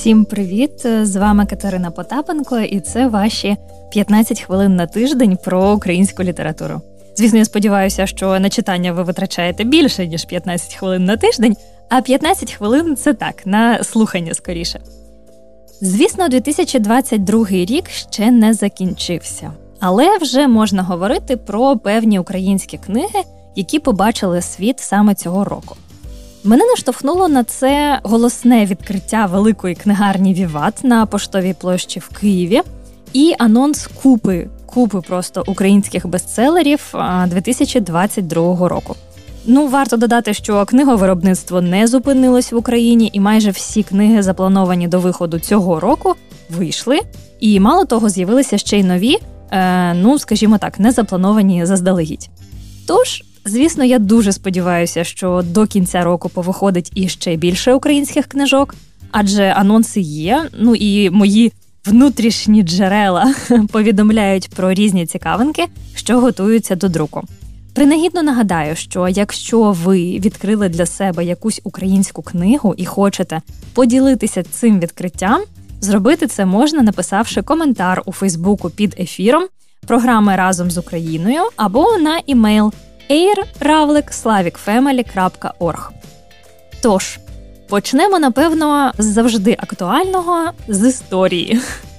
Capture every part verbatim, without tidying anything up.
Всім привіт! З вами Катерина Потапенко, і це ваші п'ятнадцять хвилин на тиждень про українську літературу. Звісно, я сподіваюся, що на читання ви витрачаєте більше, ніж п'ятнадцять хвилин на тиждень, а п'ятнадцять хвилин – це так, на слухання скоріше. Звісно, дві тисячі двадцять другий рік ще не закінчився, але вже можна говорити про певні українські книги, які побачили світ саме цього року. Мене наштовхнуло на це голосне відкриття великої книгарні «Віват» на Поштовій площі в Києві і анонс купи, купи просто українських бестселерів дві тисячі двадцять другого року. Ну, варто додати, що книговиробництво не зупинилось в Україні, і майже всі книги, заплановані до виходу цього року, вийшли. І мало того, з'явилися ще й нові, е, ну, скажімо так, не заплановані заздалегідь. Тож, звісно, я дуже сподіваюся, що до кінця року повиходить іще більше українських книжок, адже анонси є, ну і мої внутрішні джерела повідомляють про різні цікавинки, що готуються до друку. Принагідно нагадаю, що якщо ви відкрили для себе якусь українську книгу і хочете поділитися цим відкриттям, зробити це можна, написавши коментар у Фейсбуку під ефіром програми «Разом з Україною» або на імейл ей равлик славік фемелі крапка орг. Тож, почнемо, напевно, з завжди актуального – з історії.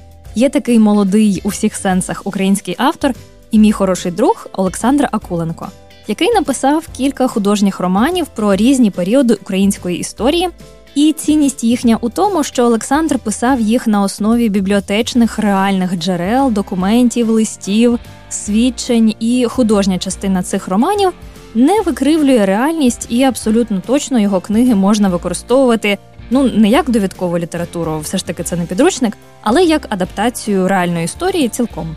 Є такий молодий у всіх сенсах український автор і мій хороший друг Олександр Акуленко, який написав кілька художніх романів про різні періоди української історії, і цінність їхня у тому, що Олександр писав їх на основі бібліотечних реальних джерел, документів, листів, свідчень, і художня частина цих романів не викривлює реальність, і абсолютно точно його книги можна використовувати, ну, не як довідкову літературу, все ж таки це не підручник, але як адаптацію реальної історії цілком.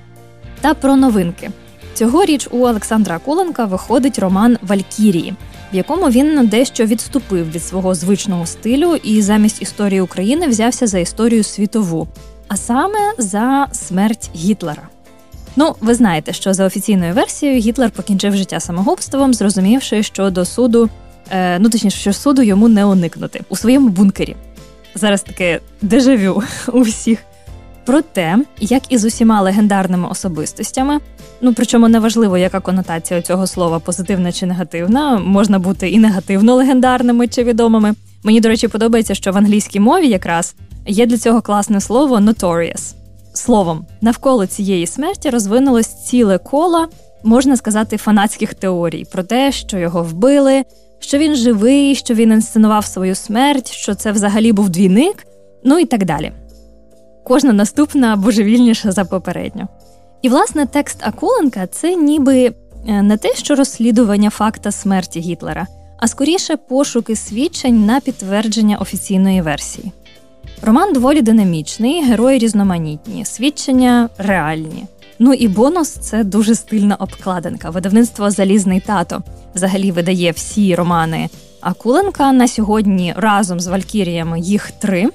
Та про новинки. Цьогоріч у Олександра Акуленка виходить роман «Валькірії», в якому він дещо відступив від свого звичного стилю і замість історії України взявся за історію світову, а саме за смерть Гітлера. Ну, ви знаєте, що за офіційною версією Гітлер покінчив життя самогубством, зрозумівши, що до суду, е, ну точніше, що суду йому не уникнути, у своєму бункері. Зараз таке дежавю у всіх. Проте, як і з усіма легендарними особистостями, ну причому неважливо, яка конотація цього слова, позитивна чи негативна, можна бути і негативно легендарними чи відомими. Мені, до речі, подобається, що в англійській мові якраз є для цього класне слово «notorious». Словом, навколо цієї смерті розвинулось ціле коло, можна сказати, фанатських теорій про те, що його вбили, що він живий, що він інсценував свою смерть, що це взагалі був двійник, ну і так далі. Кожна наступна божевільніша за попередню. І, власне, текст Акуленка – це ніби не те, що розслідування факта смерті Гітлера, а скоріше пошуки свідчень на підтвердження офіційної версії. Роман доволі динамічний, герої різноманітні, свідчення реальні. Ну і бонус – це дуже стильна обкладинка. Видавництво «Залізний тато» взагалі видає всі романи Акуленка. На сьогодні разом з «Валькіріями» їх три.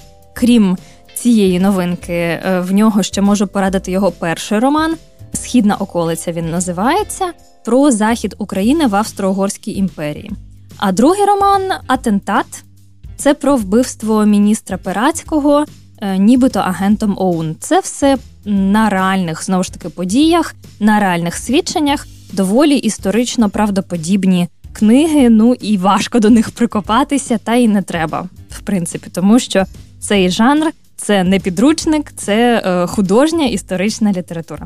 Крім цієї новинки, в нього ще можу порадити його перший роман «Східна околиця» він називається, про захід України в Австро-Угорській імперії. А другий роман «Атентат» – це про вбивство міністра Перацького, нібито агентом ОУН. Це все на реальних, знову ж таки, подіях, на реальних свідченнях, доволі історично правдоподібні книги, ну і важко до них прикопатися, та й не треба, в принципі, тому що цей жанр – це не підручник, це е, художня історична література.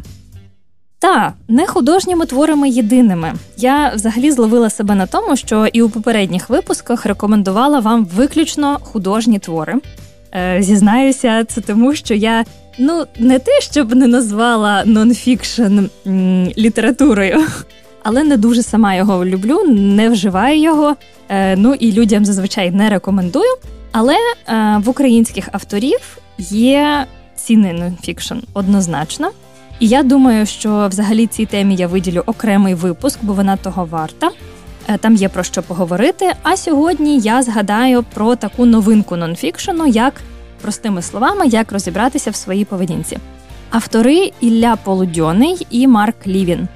Та, не художніми творами єдиними. Я взагалі зловила себе на тому, що і у попередніх випусках рекомендувала вам виключно художні твори. Е, зізнаюся, це тому, що я, ну, не те, щоб не назвала нонфікшн м, літературою, але не дуже сама його люблю, не вживаю його, е, ну і людям зазвичай не рекомендую. Але е, в українських авторів є цінний нонфікшн однозначно. І я думаю, що взагалі цій темі я виділю окремий випуск, бо вона того варта. Е, там є про що поговорити. А сьогодні я згадаю про таку новинку нонфікшену, як, простими словами, як розібратися в своїй поведінці. Автори Ілля Полудьоний і Марк Лівін.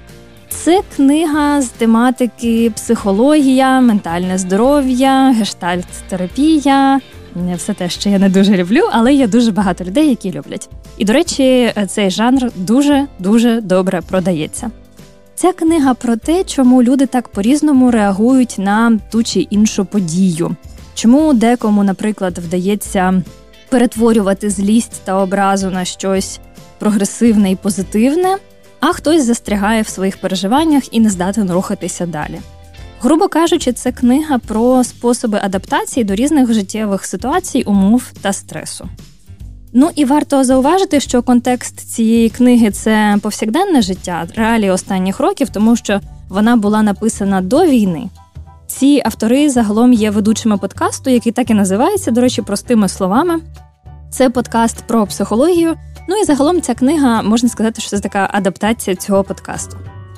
Це книга з тематики психологія, ментальне здоров'я, гештальт-терапія, все те, що я не дуже люблю, але є дуже багато людей, які люблять. І, до речі, цей жанр дуже-дуже добре продається. Ця книга про те, чому люди так по-різному реагують на ту чи іншу подію. Чому декому, наприклад, вдається перетворювати злість та образу на щось прогресивне і позитивне, а хтось застрягає в своїх переживаннях і не здатен рухатися далі. Грубо кажучи, це книга про способи адаптації до різних життєвих ситуацій, умов та стресу. Ну і варто зауважити, що контекст цієї книги – це повсякденне життя, реалії останніх років, тому що вона була написана до війни. Ці автори загалом є ведучими подкасту, який так і називається, до речі, простими словами. Це подкаст про психологію. Ну і загалом ця книга, можна сказати, що це така адаптація цього подкасту.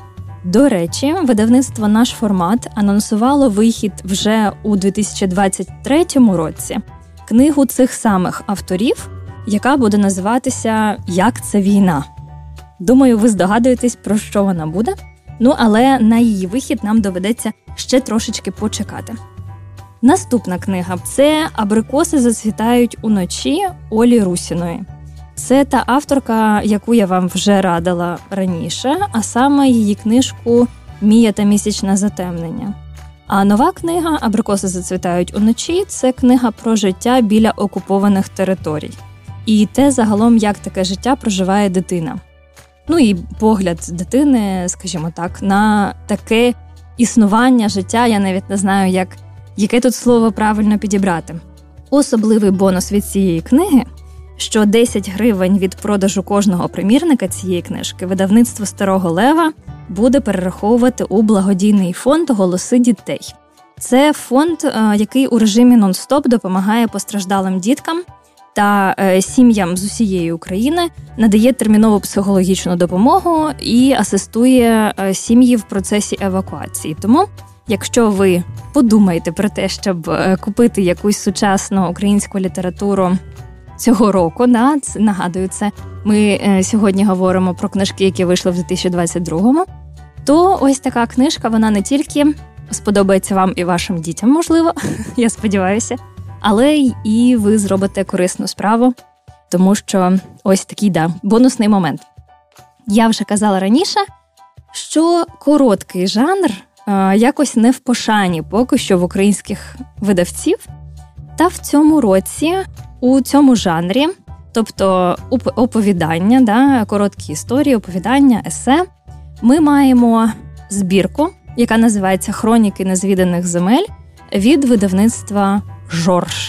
До речі, видавництво «Наш формат» анонсувало вихід вже у дві тисячі двадцять третьому році книгу цих самих авторів, яка буде називатися «Як це війна?». Думаю, ви здогадуєтесь, про що вона буде. Ну, але на її вихід нам доведеться ще трошечки почекати. Наступна книга – це «Абрикоси зацвітають уночі» Олі Русіної. Це та авторка, яку я вам вже радила раніше, а саме її книжку «Мія та місячне затемнення». А нова книга «Абрикоси зацвітають уночі» – це книга про життя біля окупованих територій. І те загалом, як таке життя проживає дитина. Ну і погляд дитини, скажімо так, на таке існування життя, я навіть не знаю, як, яке тут слово правильно підібрати. Особливий бонус від цієї книги, що десять гривень від продажу кожного примірника цієї книжки видавництво Старого Лева буде перераховувати у благодійний фонд «Голоси дітей». Це фонд, який у режимі нон-стоп допомагає постраждалим діткам та сім'ям з усієї України, надає термінову психологічну допомогу і асистує сім'ї в процесі евакуації. Тому, якщо ви подумаєте про те, щоб купити якусь сучасну українську літературу цього року, да, це, нагадую, це ми сьогодні говоримо про книжки, які вийшли в дві тисячі двадцять другому, то ось така книжка, вона не тільки сподобається вам і вашим дітям, можливо, я сподіваюся, але і ви зробите корисну справу, тому що ось такий, да, бонусний момент. Я вже казала раніше, що короткий жанр е, якось не в пошані поки що в українських видавців. Та в цьому році у цьому жанрі, тобто оповідання, да, короткі історії, оповідання, есе, ми маємо збірку, яка називається «Хроніки незвіданих земель» від видавництва «Жорж».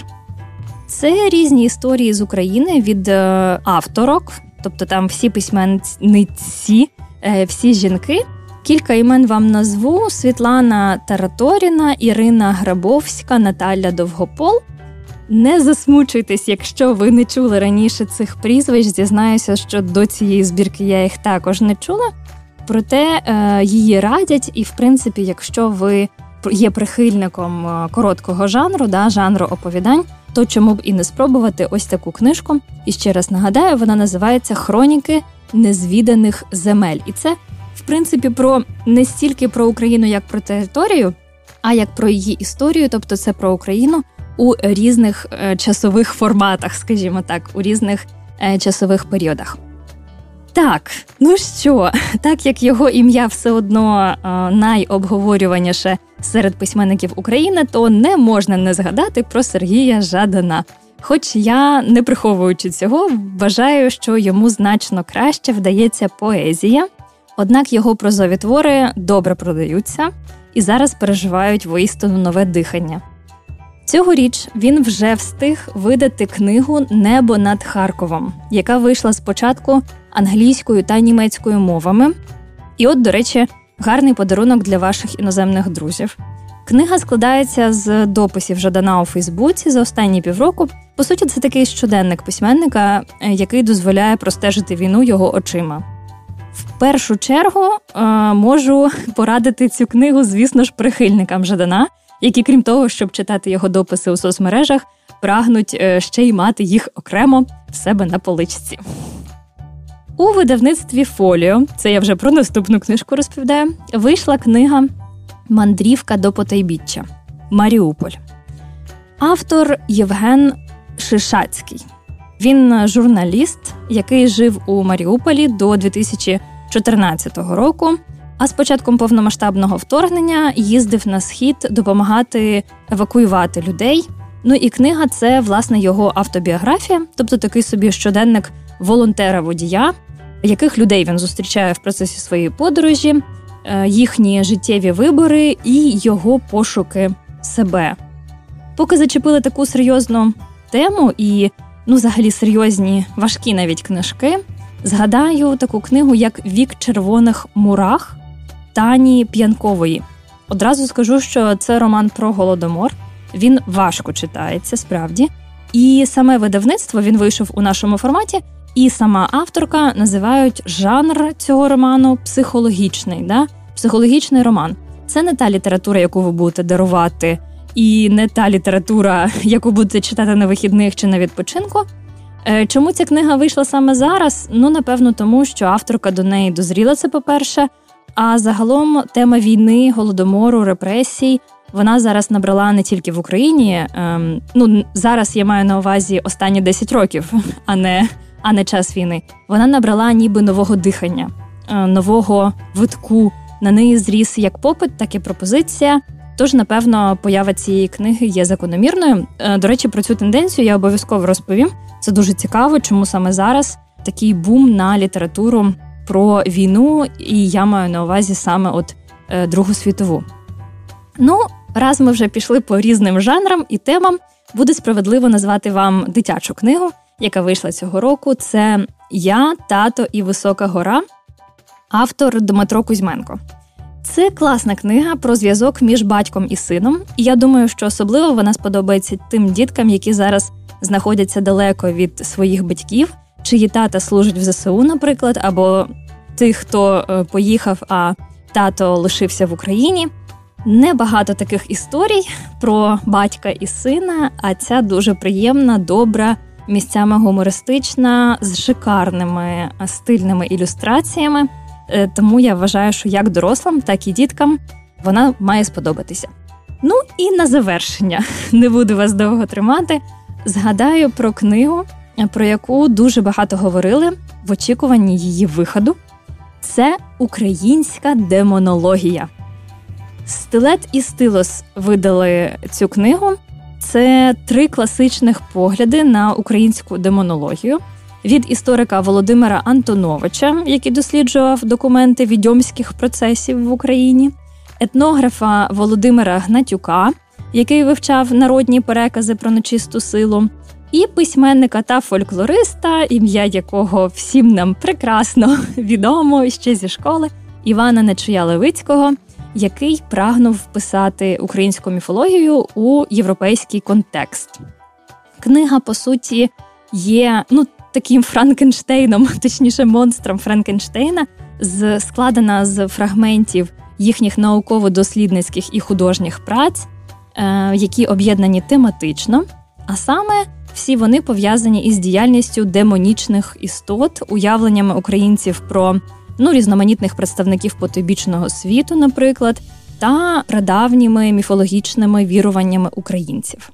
Це різні історії з України від е, авторок, тобто там всі письменниці, е, всі жінки. Кілька імен вам назву: Світлана Тараторіна, Ірина Грабовська, Наталя Довгопол. Не засмучуйтесь, якщо ви не чули раніше цих прізвищ. Зізнаюся, що до цієї збірки я їх також не чула. Проте е, її радять, і, в принципі, якщо ви є прихильником короткого жанру, да, жанру оповідань, то чому б і не спробувати ось таку книжку. І ще раз нагадаю, вона називається «Хроніки незвіданих земель». І це, в принципі, про не стільки про Україну, як про територію, а як про її історію, тобто це про Україну у різних е, часових форматах, скажімо так, у різних е, часових періодах. Так, ну що, так як його ім'я все одно е, найобговорюваніше серед письменників України, то не можна не згадати про Сергія Жадана. Хоч я, не приховуючи цього, вважаю, що йому значно краще вдається поезія, однак його прозові твори добре продаються і зараз переживають воістину нове дихання. Цьогоріч він вже встиг видати книгу «Небо над Харковом», яка вийшла спочатку англійською та німецькою мовами. І от, до речі, гарний подарунок для ваших іноземних друзів. Книга складається з дописів Жадана у Фейсбуці за останні півроку. По суті, це такий щоденник письменника, який дозволяє простежити війну його очима. В першу чергу е, можу порадити цю книгу, звісно ж, прихильникам Жадана, які, крім того, щоб читати його дописи у соцмережах, прагнуть е, ще й мати їх окремо в себе на поличці. У видавництві «Фоліо», це я вже про наступну книжку розповідаю, вийшла книга «Мандрівка до потайбіччя. Маріуполь». Автор Євген Шишацький. Він журналіст, який жив у Маріуполі до дві тисячі чотирнадцятого року, а з початком повномасштабного вторгнення їздив на Схід допомагати евакуювати людей. Ну і книга – це, власне, його автобіографія, тобто такий собі щоденник волонтера-водія, яких людей він зустрічає в процесі своєї подорожі, їхні життєві вибори і його пошуки себе. Поки зачепили таку серйозну тему і, ну, взагалі серйозні, важкі навіть книжки, згадаю таку книгу, як «Вік червоних мурах» Тані П'янкової. Одразу скажу, що це роман про Голодомор. Він важко читається, справді. І саме видавництво, він вийшов у нашому форматі, і сама авторка називають жанр цього роману психологічний, да? Психологічний роман. Це не та література, яку ви будете дарувати, і не та література, яку будете читати на вихідних чи на відпочинку. Чому ця книга вийшла саме зараз? Ну, напевно, тому, що авторка до неї дозріла, це по-перше, а загалом тема війни, голодомору, репресій, вона зараз набрала не тільки в Україні, ем, ну, зараз я маю на увазі останні десять років, а не, а не час війни. Вона набрала ніби нового дихання, е, нового витку. На неї зріс як попит, так і пропозиція. Тож, напевно, поява цієї книги є закономірною. Е, до речі, про цю тенденцію я обов'язково розповім. Це дуже цікаво, чому саме зараз такий бум на літературу про війну, і я маю на увазі саме от е, Другу світову. Ну, раз ми вже пішли по різним жанрам і темам, буде справедливо назвати вам дитячу книгу, яка вийшла цього року. Це «Я, тато і висока гора», автор Дмитро Кузьменко. Це класна книга про зв'язок між батьком і сином, і я думаю, що особливо вона сподобається тим діткам, які зараз знаходяться далеко від своїх батьків, чиї тата служать в зе се у, наприклад, або тих, хто поїхав, а тато лишився в Україні. Небагато таких історій про батька і сина, а ця дуже приємна, добра, місцями гумористична, з шикарними стильними ілюстраціями. Тому я вважаю, що як дорослим, так і діткам вона має сподобатися. Ну і на завершення, не буду вас довго тримати, згадаю про книгу, про яку дуже багато говорили в очікуванні її виходу. Це «Українська демонологія». Стилет і Стилос видали цю книгу. Це три класичних погляди на українську демонологію. Від історика Володимира Антоновича, який досліджував документи відьомських процесів в Україні, етнографа Володимира Гнатюка, який вивчав народні перекази про нечисту силу, і письменника та фольклориста, ім'я якого всім нам прекрасно відомо ще зі школи, Івана Нечуя-Левицького, який прагнув вписати українську міфологію у європейський контекст. Книга, по суті, є, ну, таким Франкенштейном, точніше, монстром Франкенштейна, з, складена з фрагментів їхніх науково-дослідницьких і художніх праць, е, які об'єднані тематично, а саме всі вони пов'язані із діяльністю демонічних істот, уявленнями українців про, ну, різноманітних представників потойбічного світу, наприклад, та прадавніми міфологічними віруваннями українців.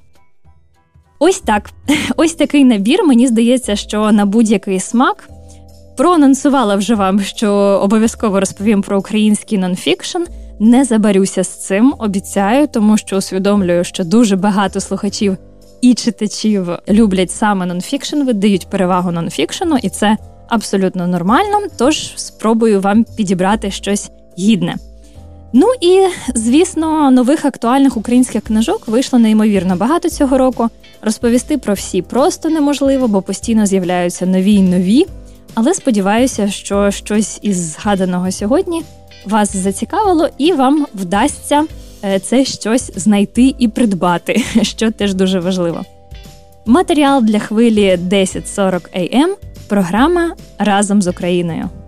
Ось так. Ось такий набір. Мені здається, що на будь-який смак. Проанонсувала вже вам, що обов'язково розповім про український нонфікшн. Не забарюся з цим, обіцяю, тому що усвідомлюю, що дуже багато слухачів і читачів люблять саме нонфікшн, видають перевагу нонфікшену, і це абсолютно нормально, тож спробую вам підібрати щось гідне. Ну і, звісно, нових актуальних українських книжок вийшло неймовірно багато цього року. Розповісти про всі просто неможливо, бо постійно з'являються нові й нові. Але сподіваюся, що щось із згаданого сьогодні вас зацікавило і вам вдасться це щось знайти і придбати, що теж дуже важливо. Матеріал для хвилі десять сорок ей ем, програма «Разом з Україною».